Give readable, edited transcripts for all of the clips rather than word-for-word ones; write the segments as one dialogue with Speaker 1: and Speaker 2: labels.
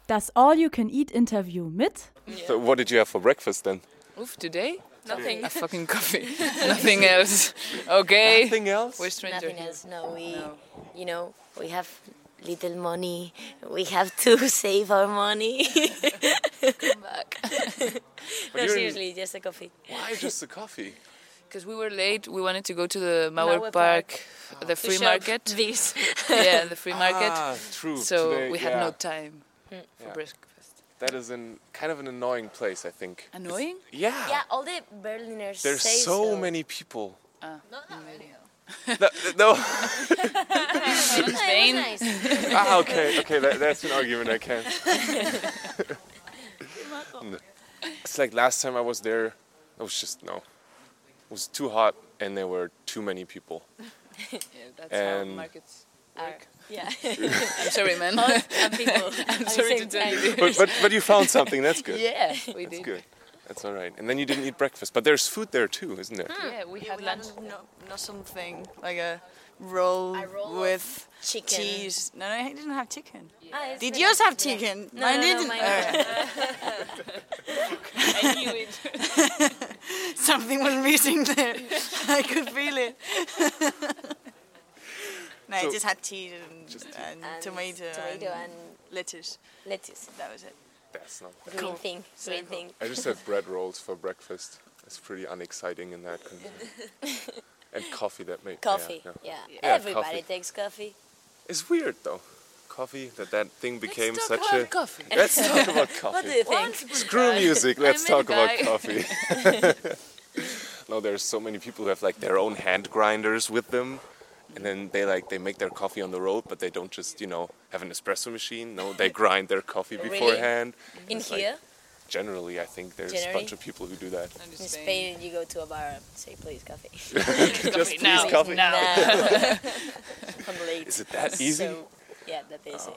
Speaker 1: Das All-You-Can-Eat-Interview mit...
Speaker 2: So what did you have for breakfast then?
Speaker 3: Oof, today?
Speaker 4: Nothing.
Speaker 3: A fucking coffee. Nothing else. Okay.
Speaker 2: Nothing else?
Speaker 3: We're strangers.
Speaker 4: Nothing else. No, we have little money. We have to save our money.
Speaker 3: Come back.
Speaker 4: No, seriously, just a coffee.
Speaker 2: Why just the coffee?
Speaker 3: Because we were late. We wanted to go to the Mauer
Speaker 4: Mauer
Speaker 3: Park, the free
Speaker 4: shop
Speaker 3: market.
Speaker 4: This.
Speaker 3: Yeah, the free market.
Speaker 2: Ah, true.
Speaker 3: So
Speaker 2: Today,
Speaker 3: we had
Speaker 2: yeah.
Speaker 3: no time for breakfast.
Speaker 2: That is kind of an annoying place, I think.
Speaker 3: Annoying?
Speaker 2: Yeah.
Speaker 4: Yeah, all the Berliners
Speaker 2: There's
Speaker 4: say
Speaker 2: so many people.
Speaker 3: Maybe.
Speaker 2: No.
Speaker 3: In Spain.
Speaker 4: It was nice.
Speaker 2: Okay. That's an argument I can't. No. It's like last time I was there, it was too hot and there were too many people.
Speaker 3: Yeah, that's
Speaker 2: And-
Speaker 3: how markets
Speaker 4: Are-
Speaker 3: work.
Speaker 4: yeah.
Speaker 3: I'm sorry, man.
Speaker 4: And people.
Speaker 3: I'm sorry to tell you.
Speaker 2: But you found something. That's good.
Speaker 3: Yeah, we
Speaker 2: That's
Speaker 3: did.
Speaker 2: good. That's all right. And then you didn't eat breakfast, but there's food there too, isn't there?
Speaker 3: Yeah, we had lunch.
Speaker 5: No something like a roll,
Speaker 4: A roll
Speaker 5: with
Speaker 4: chicken.
Speaker 5: cheese. No, I didn't have chicken.
Speaker 4: Ah, it's
Speaker 5: Did
Speaker 4: really
Speaker 5: yours
Speaker 4: nice.
Speaker 5: have chicken?
Speaker 4: No,
Speaker 5: Mine
Speaker 4: no,
Speaker 5: didn't.
Speaker 4: mine
Speaker 3: I knew it.
Speaker 5: Something was missing there. I could feel it. No,
Speaker 2: So-
Speaker 5: I just had cheese and
Speaker 4: And
Speaker 5: tomato
Speaker 4: and
Speaker 5: lettuce.
Speaker 4: lettuce.
Speaker 5: That was it.
Speaker 2: That's not bad.
Speaker 4: Green thing. Green thing.
Speaker 2: I just had bread rolls for breakfast. It's pretty unexciting in that condition. And coffee that made
Speaker 4: Coffee.
Speaker 2: Yeah.
Speaker 4: Yeah. Everybody
Speaker 2: coffee.
Speaker 4: takes coffee.
Speaker 2: It's weird though. Coffee, that thing became
Speaker 3: Let's
Speaker 2: such
Speaker 3: talk
Speaker 2: a.
Speaker 3: about coffee.
Speaker 2: Let's talk about coffee.
Speaker 4: What do you think?
Speaker 2: Screw music. Let's
Speaker 3: I met
Speaker 2: talk
Speaker 3: a
Speaker 2: about
Speaker 3: guy.
Speaker 2: coffee. No, there's so many people who have like their own hand grinders with them, and then they make their coffee on the road, but they don't just have an espresso machine. No, they grind their coffee
Speaker 4: Really?
Speaker 2: beforehand.
Speaker 4: In
Speaker 2: It's like-
Speaker 4: here,
Speaker 2: Generally, I think there's a
Speaker 4: Generally?
Speaker 2: bunch of people who do that.
Speaker 3: And
Speaker 4: in Spain, you go to a bar and say, please, coffee.
Speaker 2: Just
Speaker 3: now.
Speaker 2: please coffee.
Speaker 4: Now. I'm late.
Speaker 2: Is it that easy?
Speaker 4: So, yeah, that easy.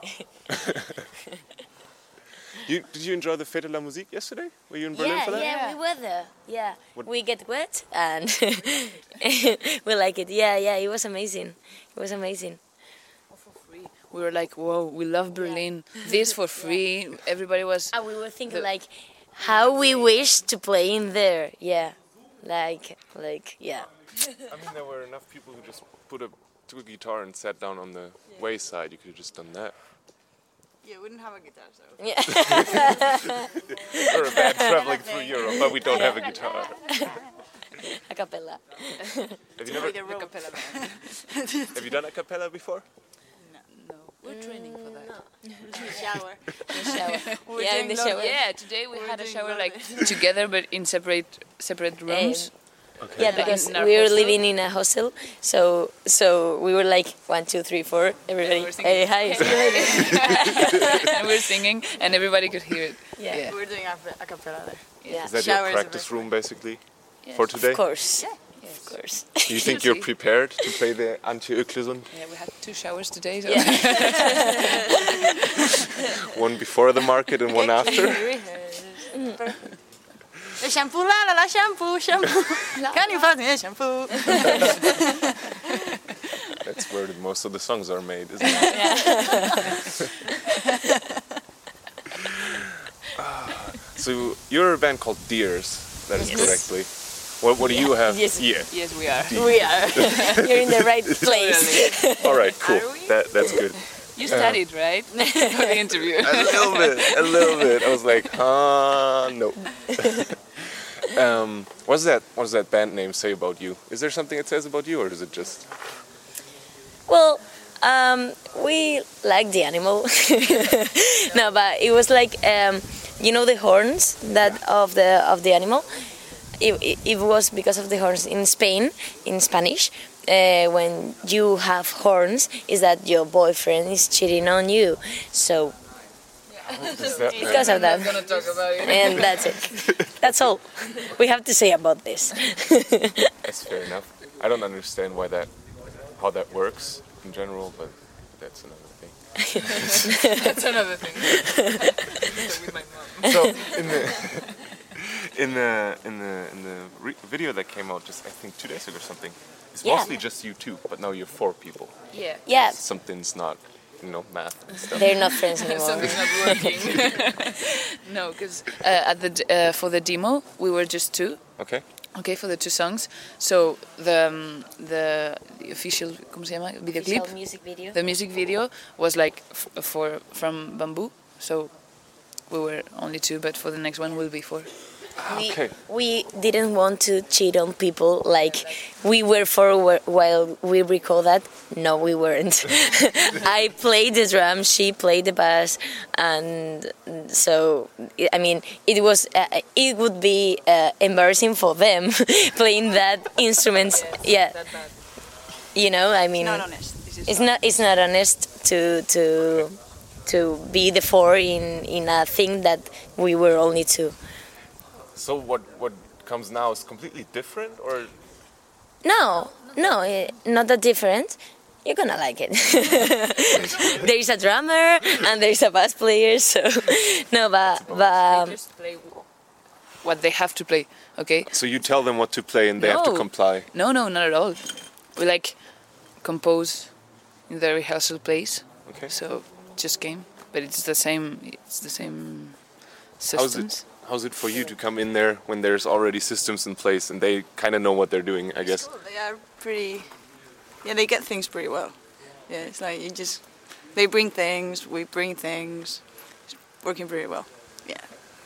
Speaker 2: Did you enjoy the Fête de la Musique yesterday? Were you in Berlin for that?
Speaker 4: Yeah, we were there. Yeah,
Speaker 2: What-
Speaker 4: we get wet and we like it. Yeah, it was amazing. It was amazing.
Speaker 3: we were like, whoa, we love Berlin. This for free. Everybody was.
Speaker 4: And we were thinking like, how we wish to play in there. Yeah, like yeah.
Speaker 2: I mean, there were enough people who just took a guitar and sat down on the wayside. You could have just done that.
Speaker 5: You wouldn't have a guitar, so.
Speaker 4: Yeah.
Speaker 2: We're a band traveling through Europe, but we don't have a guitar.
Speaker 4: A cappella.
Speaker 2: Have you done a cappella before?
Speaker 3: No, we're training for that.
Speaker 5: Shower.
Speaker 4: Shower.
Speaker 5: We're
Speaker 4: Yeah, in
Speaker 5: doing
Speaker 4: the shower.
Speaker 3: Yeah, today we had a
Speaker 5: doing
Speaker 3: shower
Speaker 5: lot
Speaker 3: like together, but in separate rooms.
Speaker 4: Yeah, because
Speaker 3: In our
Speaker 4: we were
Speaker 3: hostel?
Speaker 4: living in a hostel, so we were like 1, 2, 3, 4. Everybody,
Speaker 3: we're singing.
Speaker 4: hey, hi, see you later.
Speaker 3: And we were singing, and everybody could hear it.
Speaker 4: Yeah.
Speaker 5: We're doing a cappella there.
Speaker 4: Yeah.
Speaker 2: Is that
Speaker 5: Shower
Speaker 2: your
Speaker 5: is the
Speaker 2: practice
Speaker 5: best
Speaker 2: room, basically, for today?
Speaker 4: Of course.
Speaker 5: Yeah.
Speaker 4: Of course.
Speaker 2: Do you think you're prepared to play the Antje Öklesund?
Speaker 3: Yeah, we had 2 showers today. So.
Speaker 2: One before the market and one after?
Speaker 5: The shampoo, la shampoo. Can you find me shampoo?
Speaker 2: That's where most of the songs are made, isn't it? So you're a band called Deers, that is correctly. What do you have?
Speaker 4: Yes.
Speaker 2: Yeah.
Speaker 3: Yes, we are.
Speaker 4: We are. You're in the right place.
Speaker 2: All right, cool. That's good.
Speaker 3: You studied, right? For the interview.
Speaker 2: A little bit. I was like, no. What does that band name say about you? Is there something it says about you, or is it just?
Speaker 4: Well, we like the animal. No, but it was like the horns that of the animal. It was because of the horns in Spain, in Spanish. When you have horns, is that your boyfriend is cheating on you. So because of that,
Speaker 3: Gonna talk about it.
Speaker 4: and that's it. That's all we have to say about this.
Speaker 2: That's fair enough. I don't understand how that works in general, but that's another thing.
Speaker 3: That's another thing. With my mom.
Speaker 2: So in the video that came out just I think 2 days ago or something, it's
Speaker 4: Yeah.
Speaker 2: mostly just you two, but now you're 4 people.
Speaker 3: Yeah.
Speaker 4: Yeah,
Speaker 2: Something's not math and stuff.
Speaker 4: They're not friends anymore.
Speaker 3: Something's not working. No, because for the demo we were just two.
Speaker 2: Okay.
Speaker 3: Okay, for the two songs. So the official, ¿cómo se llama? Videoclip.
Speaker 4: Official music video.
Speaker 3: The music video was like from Bamboo. So we were only two, but for the next one we'll be four.
Speaker 2: Okay.
Speaker 4: We didn't want to cheat on people like we were for while we record that. No, we weren't. I played the drums, she played the bass, and so I mean it would be embarrassing for them playing that instruments. Yeah, you know, I mean,
Speaker 5: Not honest.
Speaker 4: it's not honest to be the four in a thing that we were only two.
Speaker 2: So what comes now is completely different, or
Speaker 4: No, not that different. You're gonna like it. There is a drummer and there is a bass player, so no,
Speaker 3: They just play what they have to play. Okay.
Speaker 2: so you tell them what to play and they have to
Speaker 3: No.
Speaker 2: comply?
Speaker 3: No, not at all. We like compose in the rehearsal place.
Speaker 2: Okay.
Speaker 3: So just game, but it's the same. It's the same
Speaker 2: How's
Speaker 3: systems.
Speaker 2: How's it for you to come in there when there's already systems in place and they kind of know what they're doing, I guess?
Speaker 5: Cool. They are pretty. Yeah, they get things pretty well. Yeah, it's like they bring things, we bring things. It's working pretty well. Yeah.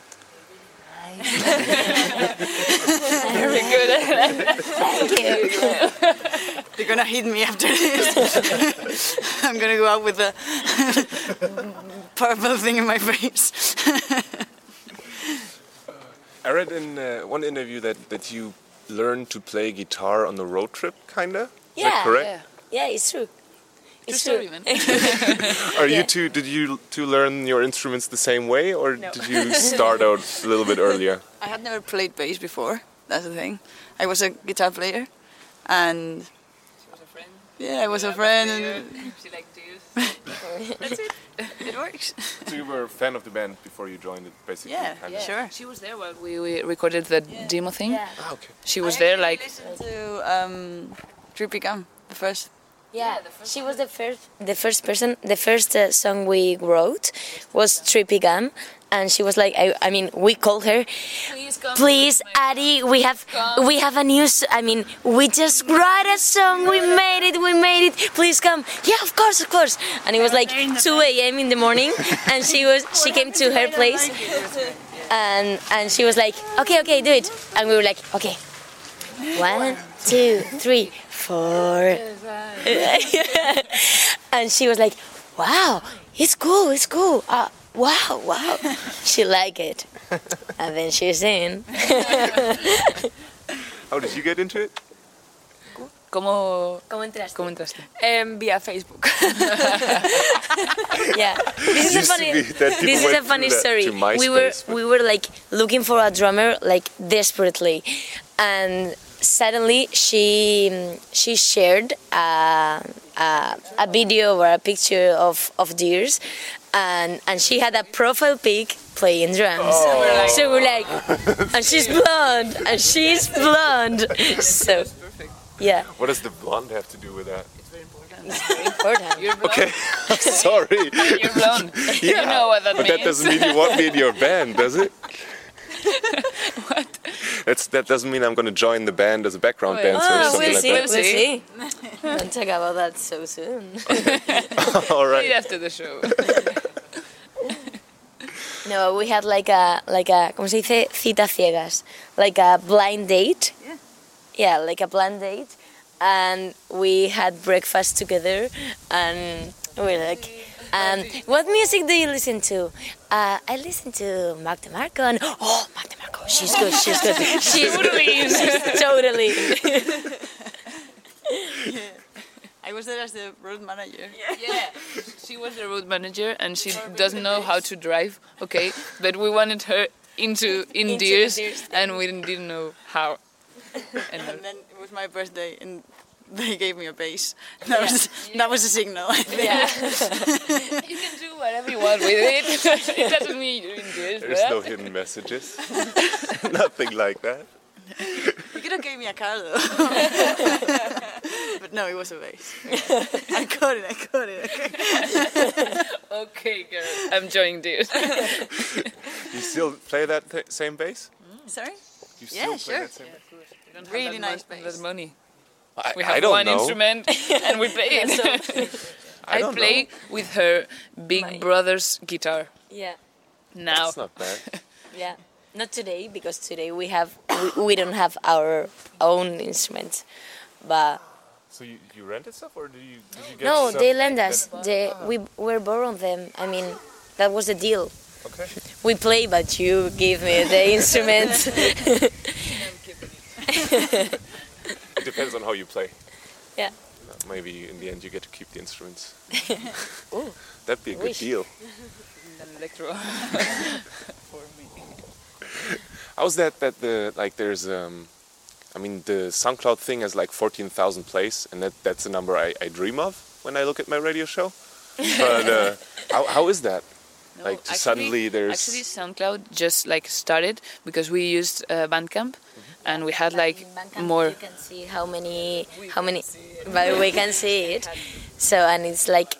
Speaker 3: Very good.
Speaker 4: thank you.
Speaker 5: They're gonna hit me after this. I'm gonna go out with a purple thing in my face.
Speaker 2: I read in one interview that you learned to play guitar on the road trip, kinda. Is that correct?
Speaker 3: Yeah.
Speaker 4: Yeah, it's true. It's
Speaker 3: True
Speaker 4: true.
Speaker 3: story, man.
Speaker 2: Are you two? Did you two learn your instruments the same way, or did you start out a little bit earlier?
Speaker 5: I had never played bass before. That's the thing. I was a guitar player, and
Speaker 3: She was a friend.
Speaker 5: yeah, I was a friend, and
Speaker 3: She liked to use.
Speaker 5: it works.
Speaker 2: So you were a fan of the band before you joined it, basically.
Speaker 5: Yeah,
Speaker 2: kinda?
Speaker 5: sure.
Speaker 3: She was there while we recorded the demo thing.
Speaker 4: Yeah.
Speaker 2: Ah, okay.
Speaker 3: She was there like.
Speaker 5: Listened to Trippy Gum, the first.
Speaker 4: Yeah, she was the first person. The first song we wrote was Trippy Gum, and she was like, I mean, we called her. Please, Addie, we have a new. We just wrote a song. We made it. Please come. Yeah, of course. And it was like 2 a.m. in the morning, and she came to her place, and she was like, okay, do it. And we were like, okay, 1, 2, 3, 4. And she was like, wow, it's cool. Wow. She liked it. And then she's in.
Speaker 2: How did you get into it?
Speaker 3: ¿Cómo
Speaker 4: entraste?
Speaker 3: entraste?
Speaker 6: Via Facebook.
Speaker 4: Yeah. This is a funny story. We were like looking for a drummer like desperately, and suddenly she shared a video or a picture of Deers, and she had a profile pic playing drums. So we're like, and she's blonde, so yeah.
Speaker 2: What does the blonde have to do with that?
Speaker 4: It's very important.
Speaker 3: You're blonde.
Speaker 2: Okay, I'm sorry.
Speaker 3: You're blonde.
Speaker 2: Yeah,
Speaker 3: You know what that
Speaker 2: but
Speaker 3: means.
Speaker 2: that doesn't mean you want me in your band, does it?
Speaker 3: What?
Speaker 2: That doesn't mean I'm going to join the band as a background
Speaker 3: Well,
Speaker 2: dancer or something
Speaker 4: We'll
Speaker 2: like
Speaker 4: see. Don't talk about that so soon.
Speaker 2: that. All
Speaker 3: Right
Speaker 2: right.
Speaker 3: after the show.
Speaker 4: No, we had like a ¿cómo se dice? Citas ciegas, like a blind date. Yeah, like a blind date, and we had breakfast together, and we were like, what music do you listen to? I listen to Mark DeMarco, and Mark DeMarco, she's good. She's totally.
Speaker 5: I was there as the road manager.
Speaker 3: Yeah, she was the road manager and she doesn't know how to drive. Okay, but we wanted her in Deers, and we didn't know how.
Speaker 5: And then it was my birthday, and they gave me a bass. That was a signal. I think.
Speaker 4: Yeah.
Speaker 3: You can do whatever you want with it. It doesn't mean you're in Deers.
Speaker 2: There's no hidden messages. Nothing like that.
Speaker 5: You could have gave me a car though. But No, it was a bass. I got it. Okay.
Speaker 3: Okay, girl. I'm joining this.
Speaker 2: You still play that same bass?
Speaker 5: Sorry?
Speaker 2: You
Speaker 5: Yeah,
Speaker 2: still play
Speaker 5: sure.
Speaker 2: that same bass?
Speaker 5: Really nice
Speaker 3: That
Speaker 5: bass.
Speaker 3: money.
Speaker 2: I,
Speaker 3: We have
Speaker 2: I don't
Speaker 3: one
Speaker 2: know.
Speaker 3: instrument and we play it.
Speaker 2: I don't
Speaker 3: play with her big brother's guitar
Speaker 4: Yeah,
Speaker 2: know.
Speaker 3: now.
Speaker 2: It's not bad.
Speaker 4: yeah. Not today, because today we don't have our own instruments, but
Speaker 2: So you rented stuff, or did you get
Speaker 4: no,
Speaker 2: stuff?
Speaker 4: they lend us. We were borrowing them. I mean, that was the deal.
Speaker 2: Okay.
Speaker 4: We play, but you give me the instruments.
Speaker 2: It depends on how you play.
Speaker 4: Yeah.
Speaker 2: Maybe in the end you get to keep the instruments.
Speaker 4: Ooh,
Speaker 2: That'd be a good
Speaker 4: wish.
Speaker 2: deal.
Speaker 3: An electro. For me.
Speaker 2: How's that the like there's I mean the SoundCloud thing has like 14,000 plays, and that's a number I dream of when I look at my radio show. But how is that?
Speaker 3: No,
Speaker 2: Like to suddenly there's
Speaker 3: Actually, SoundCloud just like started because we used Bandcamp, and we had like more.
Speaker 4: You can see how many, but we can see it. So, and it's like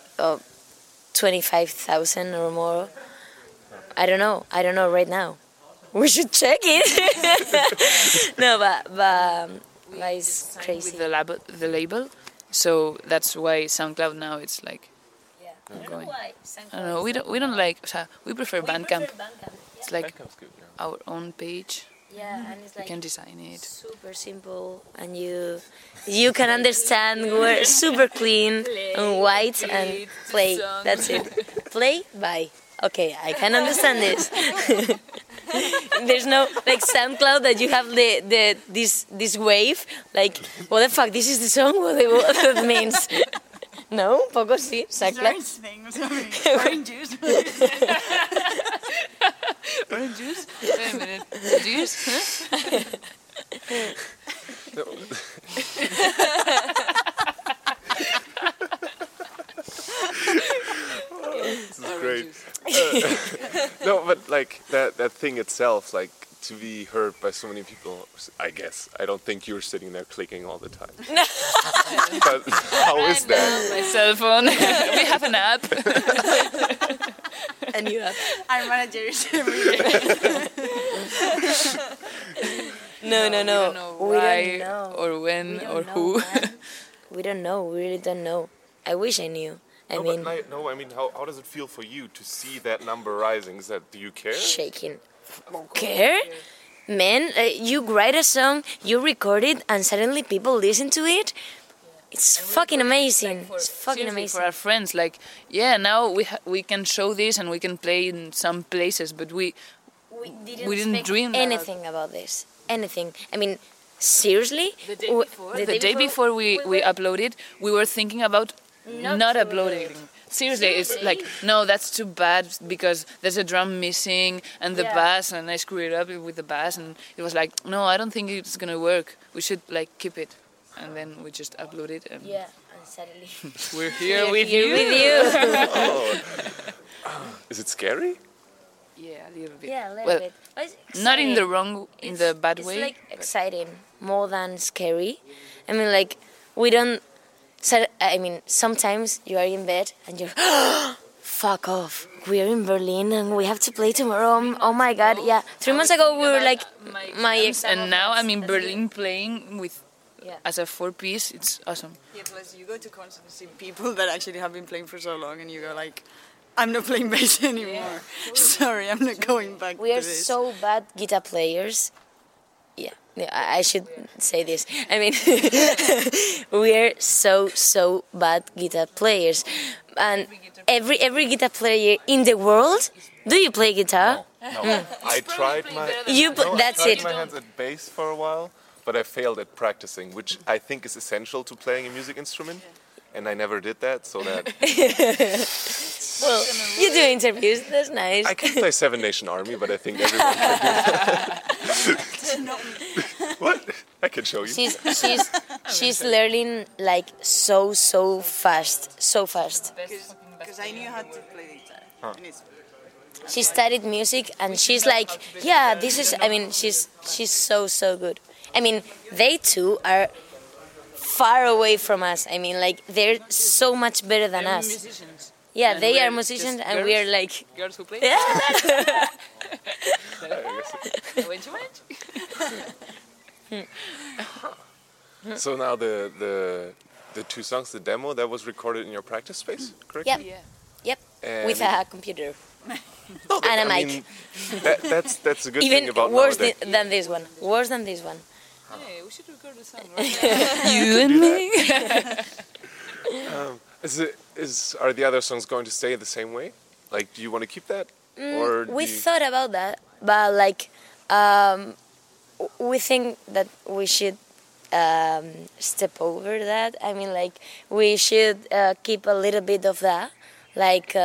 Speaker 4: 25,000 or more. I don't know right now. We should check it. No, but it's crazy.
Speaker 3: With the label, so that's why SoundCloud now it's like going. I don't know. We don't like. We prefer Bandcamp. It's like
Speaker 2: Bandcamp's good, yeah.
Speaker 3: our own page.
Speaker 4: Yeah, and it's
Speaker 3: We can design it.
Speaker 4: super simple, and you can understand. We're super clean and white and play. That's it. Play, bye. Okay, I can understand this. There's no like SoundCloud that you have this wave. Like, what the fuck? This is the song. What that means? No, poco sí. SoundCloud.
Speaker 5: things. Orange juice.
Speaker 3: Orange juice? Wait a minute. Juice? Huh?
Speaker 2: This is great. No, but like that thing itself, like to be heard by so many people, I guess. I don't think you're sitting there clicking all the time. But how is that?
Speaker 3: My cell phone. We have an app.
Speaker 4: And you have.
Speaker 5: Our managers every day.
Speaker 4: No.
Speaker 3: We don't know
Speaker 4: We
Speaker 3: why
Speaker 4: don't know.
Speaker 3: or when
Speaker 4: We don't
Speaker 3: or
Speaker 4: know,
Speaker 3: who.
Speaker 4: man. We don't know. We really don't know. I wish I knew. I mean,
Speaker 2: I mean, how does it feel for you to see that number rising? Do you care?
Speaker 4: shaking. Care? Man, you write a song, you record it, and suddenly people listen to it. It's fucking amazing. It's fucking
Speaker 3: Seriously,
Speaker 4: amazing.
Speaker 3: for our friends, like, yeah, now we can show this and we can play in some places, but we didn't
Speaker 4: expect
Speaker 3: dream that.
Speaker 4: anything about this. Anything. I mean, seriously?
Speaker 3: The day before we uploaded, we were thinking about not uploading. Seriously, it's like, no, that's too bad because there's a drum missing and the bass, and I screwed it up with the bass, and it was like, no, I don't think it's gonna work. We should like keep it, and then we just upload it, and
Speaker 4: Yeah, and suddenly.
Speaker 3: we're here with
Speaker 4: Here
Speaker 3: you.
Speaker 4: with you.
Speaker 2: Is it scary?
Speaker 3: Yeah, a little bit.
Speaker 4: Yeah, a little
Speaker 3: Well,
Speaker 4: bit. But it's
Speaker 3: not in
Speaker 4: exciting.
Speaker 3: in the bad
Speaker 4: It's
Speaker 3: way.
Speaker 4: like exciting more than scary. I mean, like we don't. I mean, sometimes you are in bed and you're, fuck off. We are in Berlin and we have to play tomorrow. Oh my god, yeah. 3 months ago we were like, my ex.
Speaker 3: And now I'm in Berlin playing with
Speaker 4: Yeah.
Speaker 3: as a 4-piece. It's awesome.
Speaker 5: Yeah, plus you go to concerts and see people that actually have been playing for so long, and you go like, I'm not playing bass anymore. Sorry, I'm not going back
Speaker 4: We
Speaker 5: to
Speaker 4: are
Speaker 5: this.
Speaker 4: so bad guitar players. Yeah, I should say this. I mean, we are so bad guitar players, and every guitar player in the world. Do you play guitar?
Speaker 2: No. I tried my.
Speaker 4: That's
Speaker 2: I tried
Speaker 4: it.
Speaker 2: my hands at bass for a while, but I failed at practicing, which I think is essential to playing a music instrument. And I never did that, so that
Speaker 4: Well, you do interviews. That's nice.
Speaker 2: I can play Seven Nation Army, but I think everyone can do that. What? I can show you.
Speaker 4: She's learning like so fast, so fast.
Speaker 5: Because I knew how to play the guitar. And it's
Speaker 4: She studied music and she's like, yeah, this is. I mean, she's so good. I mean, they two are far away from us. I mean, like, they're so much better than us.
Speaker 3: Musicians.
Speaker 4: Yeah,
Speaker 3: And
Speaker 4: they
Speaker 3: we're
Speaker 4: are musicians,
Speaker 3: just
Speaker 4: and
Speaker 3: girls?
Speaker 4: we are like,
Speaker 3: Girls who play.
Speaker 4: yeah.
Speaker 3: Wench, wench.
Speaker 2: So now the 2 songs, the demo, that was recorded in your practice space, correct?
Speaker 4: Yep.
Speaker 3: Yeah.
Speaker 4: Yep,
Speaker 2: And
Speaker 4: with a computer
Speaker 2: No,
Speaker 4: and a
Speaker 2: I
Speaker 4: mic.
Speaker 2: mean, that's a good
Speaker 4: Even
Speaker 2: thing about
Speaker 4: worse
Speaker 2: nowadays.
Speaker 4: than this one. Worse than this one.
Speaker 3: Hey, we should record a song right now. You and me.
Speaker 2: Are the other songs going to stay the same way? Like, do you want to keep that, or
Speaker 4: We
Speaker 2: do you-
Speaker 4: thought about that, but like, we think that we should step over that. I mean, like, we should keep a little bit of that, like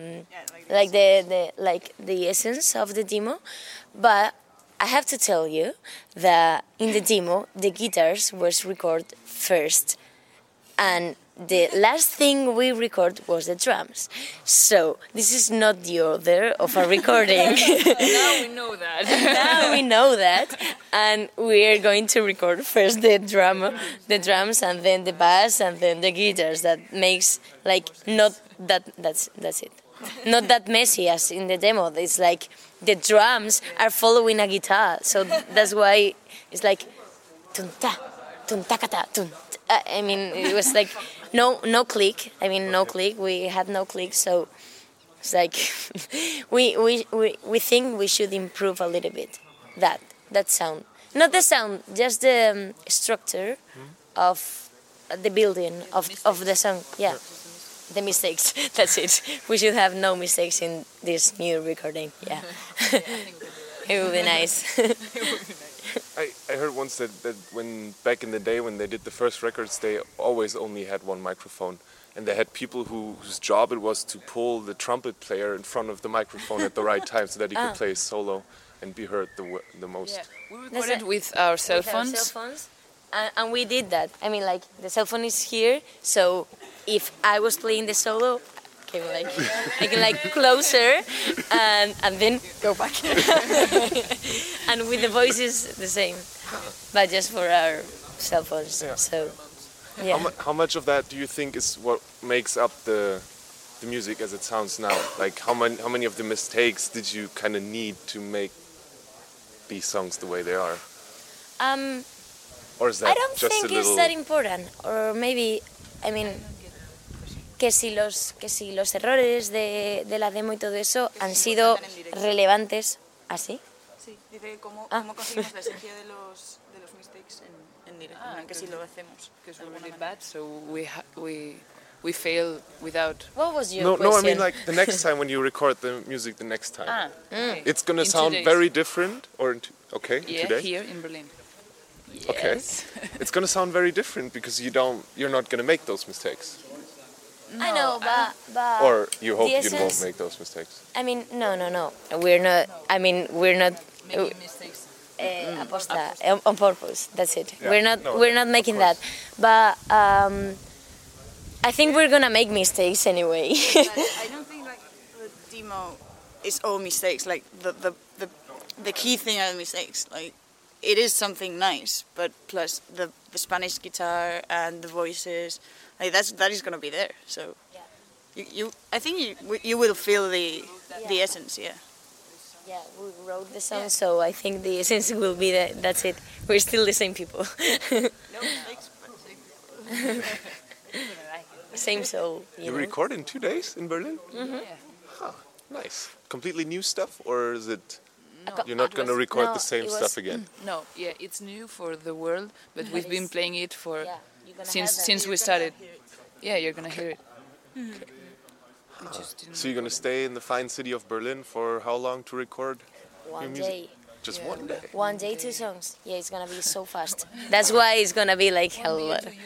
Speaker 4: the essence of the demo. But I have to tell you that in the demo, the guitars was recorded first, and the last thing we record was the drums. So this is not the order of a recording.
Speaker 3: Now we know that.
Speaker 4: Now we know that, and we are going to record first the drums, and then the bass, and then the guitars. That makes like not that. That's it. Not that messy as in the demo. It's like the drums are following a guitar, so that's why it's like tun ta, tun takata, tun. I mean, it was like no click. I mean, no click. We had no click, so it's like we think we should improve a little bit that sound. Not the sound, just the structure of the building of the song. Yeah, the mistakes. That's it. We should have no mistakes in this new recording. Yeah, it would be nice.
Speaker 2: I heard once that when back in the day when they did the first records, they always only had one microphone, and they had people whose job it was to pull the trumpet player in front of the microphone at the right time so that he could play solo and be heard the most.
Speaker 3: Yeah. We recorded with our cell phones.
Speaker 4: And we did that. I mean, like, the cell phone is here, so if I was playing the solo, I can like closer and then go back. And with the voices the same, but just for our cell phones.
Speaker 2: Yeah.
Speaker 4: So, yeah.
Speaker 2: How much of that do you think is what makes up the music as it sounds now? Like, how many of the mistakes did you kind of need to make these songs the way they are? Or is that
Speaker 4: I don't
Speaker 2: just
Speaker 4: think
Speaker 2: a little...
Speaker 4: it's that important. Or maybe, I mean, que si los errores de la demo y todo eso han sido relevantes. ¿Así?
Speaker 5: Sí, dice cómo conseguimos la esencia de los mistakes en directo, que si lo hacemos.
Speaker 3: Because we really bad, so we fail without.
Speaker 4: What was your question?
Speaker 2: No, I mean like the next time when you record the music the next time.
Speaker 3: Okay.
Speaker 2: It's gonna
Speaker 3: In
Speaker 2: sound
Speaker 3: 2 days.
Speaker 2: very different, or in
Speaker 3: Yeah,
Speaker 2: 2 days?
Speaker 3: here in Berlin.
Speaker 2: Okay.
Speaker 3: Yes.
Speaker 2: It's gonna sound very different because you're not gonna make those mistakes.
Speaker 4: I know, but
Speaker 2: Or you hope
Speaker 4: the
Speaker 2: you won't
Speaker 4: essence-
Speaker 2: make those mistakes.
Speaker 4: I mean, no. We're not. I mean, we're not
Speaker 3: Making mistakes.
Speaker 4: aposta on purpose. That's it.
Speaker 2: Yeah,
Speaker 4: We're not making that. But I think we're gonna make mistakes anyway.
Speaker 5: I don't think like the demo is all mistakes. Like the key thing are the mistakes. Like it is something nice, but plus the Spanish guitar and the voices, like that is gonna be there. So I think you will feel the essence. Yeah.
Speaker 4: Yeah, we wrote the song, so I think the essence will be that. That's it. We're still the same people.
Speaker 5: No mistakes, but
Speaker 4: Same soul.
Speaker 2: You
Speaker 4: know?
Speaker 2: record in 2 days in Berlin?
Speaker 3: Yeah.
Speaker 2: Huh, nice. Completely new stuff, or is it?
Speaker 3: No,
Speaker 2: You're not
Speaker 3: it
Speaker 2: gonna
Speaker 3: was-
Speaker 2: record
Speaker 4: no,
Speaker 2: the same
Speaker 4: it was-
Speaker 2: stuff again.
Speaker 3: No, yeah, it's new for the world, but we've been playing it for
Speaker 4: Yeah, you're gonna have that.
Speaker 3: since we started. Yeah, you're gonna hear it. We just didn't.
Speaker 2: So you're gonna stay in the fine city of Berlin for how long to record?
Speaker 4: One
Speaker 2: music.
Speaker 4: day.
Speaker 2: Just
Speaker 3: Yeah.
Speaker 2: 1 day.
Speaker 4: One day, 2 songs. Yeah, it's gonna be so fast. That's why it's gonna be like hell.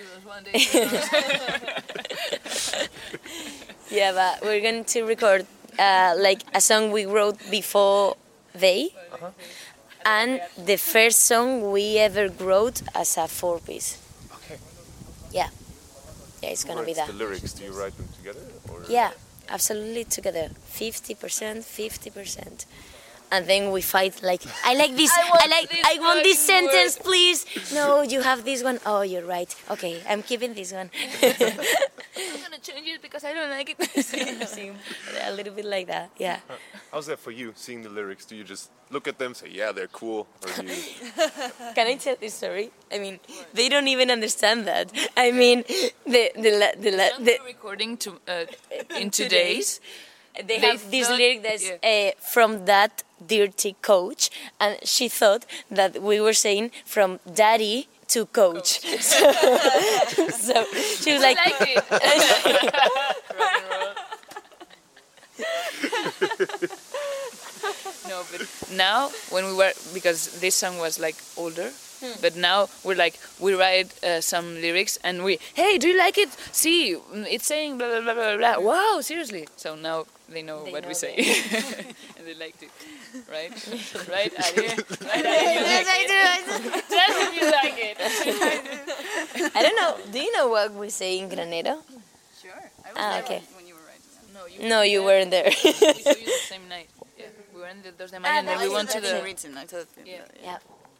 Speaker 4: Yeah, but we're going to record like a song we wrote before they, and the first song we ever wrote as a 4-piece.
Speaker 2: Okay.
Speaker 4: Yeah, it's gonna be
Speaker 2: Writes
Speaker 4: that.
Speaker 2: the lyrics, do you write them together? Or?
Speaker 4: Yeah, absolutely together. 50%, 50%. and then we fight like, I like this, I want this sentence, please. No, you have this one. Oh, you're right. Okay, I'm keeping this one.
Speaker 3: I'm gonna change it because I don't like it.
Speaker 4: A little bit like that, yeah.
Speaker 2: How's that for you, seeing the lyrics? Do you just look at them, say, yeah, they're cool? Or do you...
Speaker 4: Can I tell this story? I mean, they don't even understand that. I mean, the
Speaker 3: recording in 2 days.
Speaker 4: They have this lyric that's from that dirty coach, and she thought that we were saying from daddy to coach. So she was like,
Speaker 3: No, but now when we were, because this song was like older, but now we're like, we write some lyrics and hey, do you like it? See, it's saying blah blah blah blah blah. Wow, seriously. So now they know what we say, and they liked it, right? Right, Adi? Right, Adi?
Speaker 4: yes, I do.
Speaker 3: Tell me you like it.
Speaker 4: I don't know. Do you know what we say in Granero?
Speaker 5: Sure. I was
Speaker 4: okay.
Speaker 5: when you were writing that.
Speaker 4: No, you weren't there.
Speaker 3: We saw you the same night. Yeah, we were in the 2 de Mayo, and then we went to the.
Speaker 5: Written. I thought.
Speaker 4: Yeah.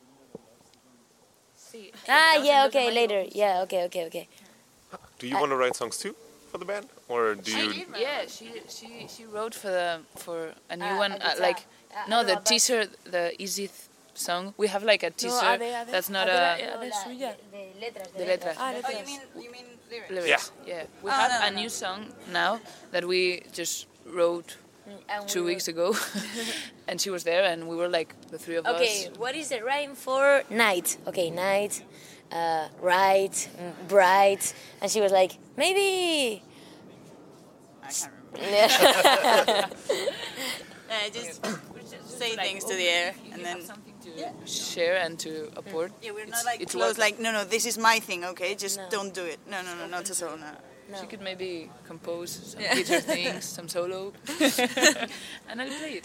Speaker 3: See,
Speaker 4: Yeah, okay, later. Yeah, okay.
Speaker 2: Do you want to write songs too for the band? Or do you...
Speaker 3: Yeah, she wrote for a new one, the teaser, the easy song. We have like a teaser that's not a... The letras.
Speaker 5: You mean lyrics?
Speaker 3: Yeah. We have a new song now that we just wrote 2 weeks ago, and she was there, and we were like the three of us.
Speaker 4: Okay, what is the rhyme for night? Okay, night, right, bright, and she was like, maybe.
Speaker 5: I can't remember.
Speaker 4: Yeah.
Speaker 5: Just say things to the air, and then.
Speaker 3: Something to share and to apport.
Speaker 5: Yeah, we're not like
Speaker 3: it's
Speaker 5: close.
Speaker 3: what-
Speaker 5: Like no, this is my thing. Okay, just don't do it. No, not at all. No.
Speaker 3: She could maybe compose some guitar things, some solo, and I'll play it.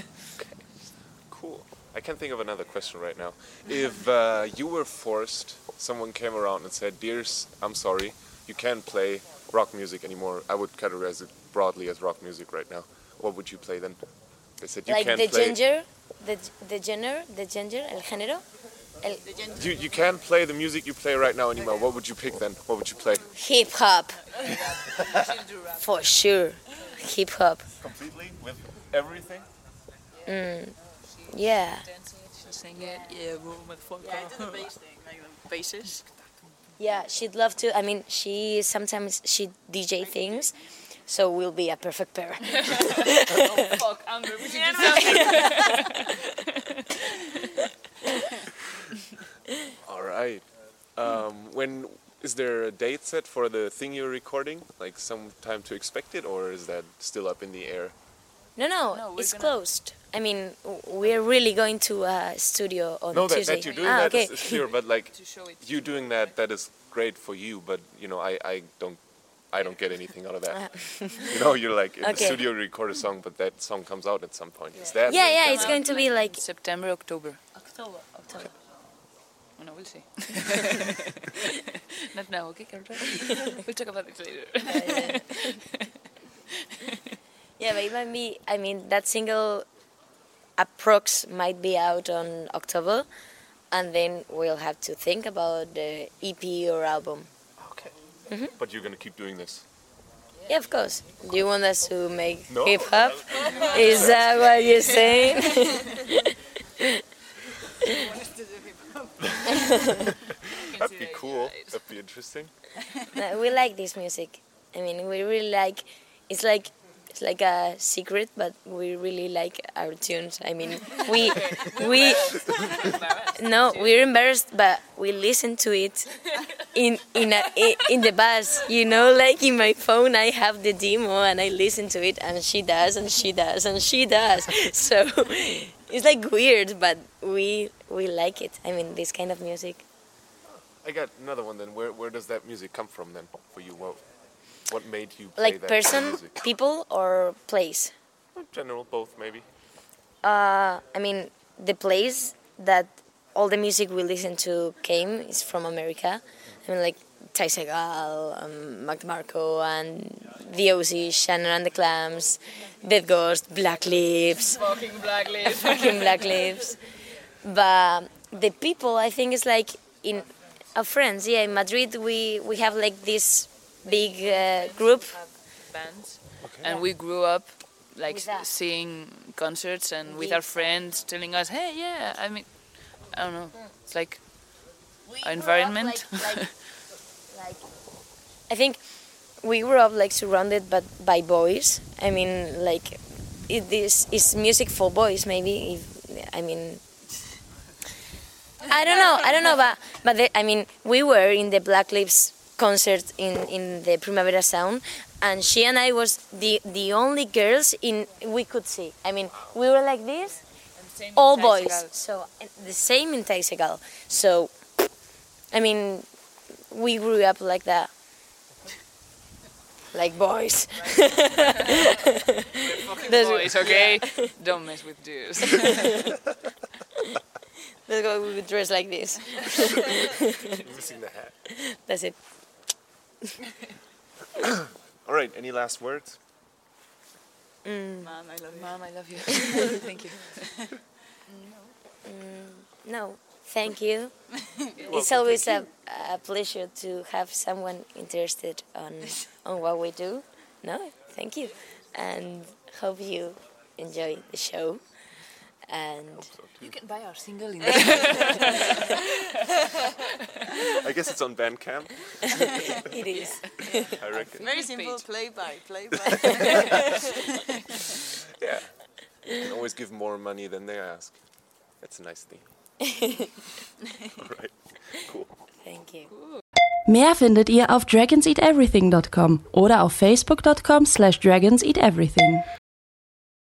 Speaker 2: Cool. I can't think of another question right now. If you were forced, someone came around and said, "Dears, I'm sorry, you can't play rock music anymore." I would categorize it broadly as rock music right now. What would you play then? They said you
Speaker 4: Like
Speaker 2: can't
Speaker 4: the
Speaker 2: play.
Speaker 4: ginger, the genre, el género.
Speaker 2: You can't play the music you play right now anymore. What would you pick then? What would you play?
Speaker 4: Hip hop. For sure. Hip hop.
Speaker 2: Completely with everything.
Speaker 4: Yeah.
Speaker 3: Sing it, yeah, motherfucker.
Speaker 5: Yeah, I do the bass thing, like the basses.
Speaker 4: Yeah, she'd love to. I mean, she DJ things, so we'll be a perfect pair.
Speaker 3: Oh fuck, Amber, we should do something.
Speaker 2: All right. When is there a date set for the thing you're recording? Like some time to expect it, or is that still up in the air?
Speaker 4: No, it's closed. I mean, we're really going to a studio on Tuesday.
Speaker 2: That you're doing that
Speaker 4: okay.
Speaker 2: is clear, but like
Speaker 3: To show it.
Speaker 2: you doing that is great for you, but you know I don't get anything out of that. You know, you're like in the
Speaker 4: Okay.
Speaker 2: studio you record a song, but that song comes out at some point. Is that
Speaker 4: Yeah, it's going to be like
Speaker 3: September, October.
Speaker 4: October.
Speaker 3: Oh, no, we'll see. Not now, okay, Carol? We'll talk about it later.
Speaker 4: Yeah, but it might be. I mean, that single, approx, might be out on October, and then we'll have to think about the EP or album.
Speaker 2: Okay. But you're gonna keep doing this.
Speaker 4: Yeah, of course. Do you want us to make
Speaker 2: No.
Speaker 4: hip hop? Is that what you're saying?
Speaker 2: That'd be cool. That'd be interesting.
Speaker 4: No, we like this music. I mean, we really like. It's like a secret, but we really like our tunes. I mean, we no, we're embarrassed, but we listen to it in the bus. You know, like in my phone, I have the demo and I listen to it, and she does, and she does, and she does. So it's like weird, but we like it. I mean, this kind of music.
Speaker 2: I got another one then. Where does that music come from then for you? What made you play
Speaker 4: Like
Speaker 2: that
Speaker 4: person,
Speaker 2: music?
Speaker 4: people, or place?
Speaker 2: In general, both maybe.
Speaker 4: I mean, the place that all the music we listen to came is from America. I mean, like Ty Segall, Mac DeMarco, and the OC, Shannon and the Clams, Dead Ghost, Black Lips.
Speaker 3: Fucking Black Lips.
Speaker 4: Fucking Black Lips. But the people, I think, is like in our friends. Yeah, in Madrid we have like this big group.
Speaker 3: Bands. And we grew up like
Speaker 4: With that.
Speaker 3: seeing concerts and with our friends telling us, hey, yeah, I mean, I don't know. It's like our environment.
Speaker 4: I think we grew up like surrounded by boys. I mean, like this is music for boys. Maybe I don't know, but I mean, we were in the Black Lips concert in the Primavera Sound, and she and I was the only girls we could see. I mean, we were like this, all boys. So the same in Taisegal. So, I mean, we grew up like that. Like boys.
Speaker 3: Boys, okay? Don't mess with dudes.
Speaker 4: That's why we would dress like this.
Speaker 2: Missing the hat.
Speaker 4: That's it.
Speaker 2: All right, any last words?
Speaker 5: Mom, I love you.
Speaker 3: Mom, I love you. Thank you.
Speaker 4: No, thank you. It's always a pleasure to have someone interested on what we do. No, thank you. And hope you enjoy the show. And
Speaker 3: You can buy our single in
Speaker 2: I guess it's on Bandcamp.
Speaker 4: it is.
Speaker 2: I reckon.
Speaker 5: Very simple. Play by.
Speaker 2: Yeah. You can always give more money than they ask. That's a nice thing. All right. Cool.
Speaker 4: Thank you.
Speaker 1: Mehr findet ihr auf dragonseateverything.com oder auf facebook.com/dragonseateverything.